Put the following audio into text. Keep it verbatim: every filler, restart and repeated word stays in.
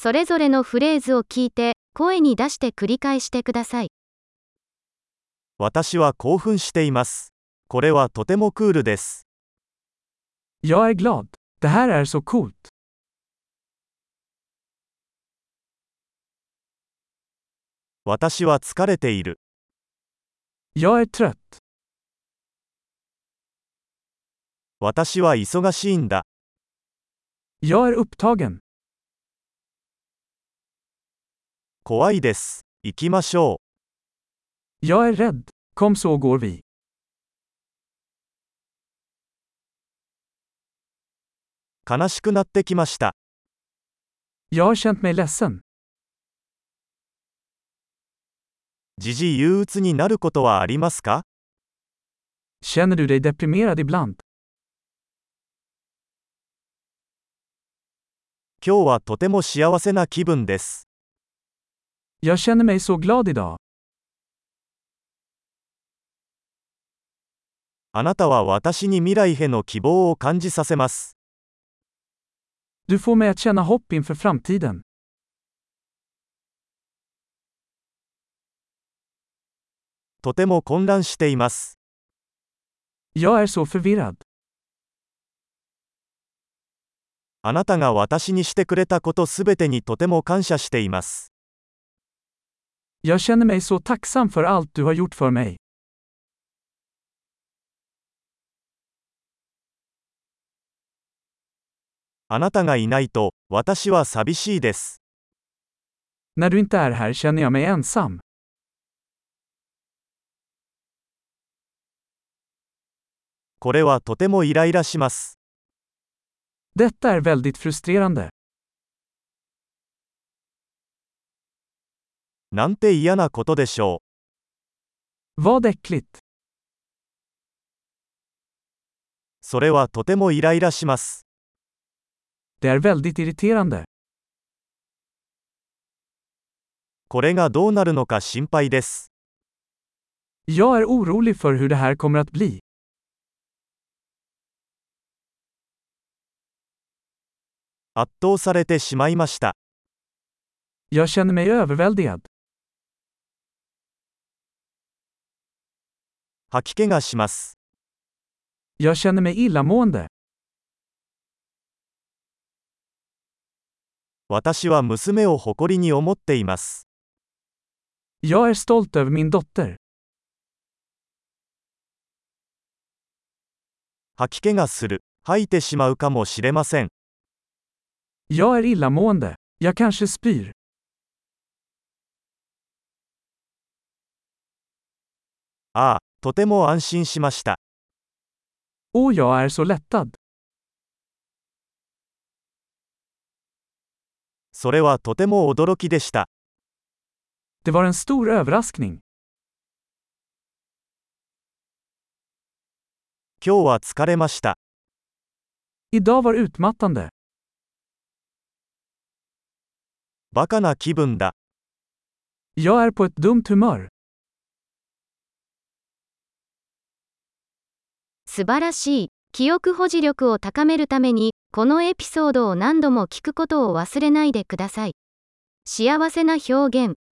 それぞれのフレーズを聞いて、声に出して繰り返してください。 私は興奮しています。これはとてもクールです。 Jag är glad. Det här är så coolt. 私は疲れている。 Jag är trött. 私は忙しいんだ。 Jag är upptagen. 怖いです。行きましょう。 Jag är rädd. Kom så går vi. 悲しくなってきました。 Jag har känt mig ledsen. 時々憂鬱になることはありますか？ Känner du dig deprimerad ibland? 今日はとても幸せな気分です。 Jag känner mig så glad idag. あなたは私に未来への希望を感じさせます。 Du får mig att känna hopp inför framtiden. とても混乱しています。 Jag är så förvirrad. あなたが私にしてくれたことすべてにとても感謝しています。 Jag känner mig så tacksam för allt du har gjort för mig. あなたがいないと、私は寂しいです。 När du inte är här känner jag mig ensam. これはとてもイライラします。 Detta är väldigt frustrerande. なんて嫌なことでしょう。 Vad äckligt. それはとてもイライラします。 Det är väldigt irriterande. これがどうなるのか心配です。 Jag är orolig för hur det här kommer att bli. 圧倒されてしまいました。 Jag känner mig överväldigad. 吐き気がします。 Jag känner mig illamående. 私は娘を誇りに思っています。 Jag är stolt över min dotter. 吐き気がする。吐いてしまうかもしれません。 Jag är illamående. Jag kanske spyr. ああ、とても安心しました。 Och jag är så lättad. それはとても驚きでした。 Det var en stor överraskning. 今日は疲れました。 Idag var utmattande. バカな気分だ。 Jag är på ett dumt humör. 素晴らしい。記憶保持力を高めるために、このエピソードを何度も聞くことを忘れないでください。幸せな表現。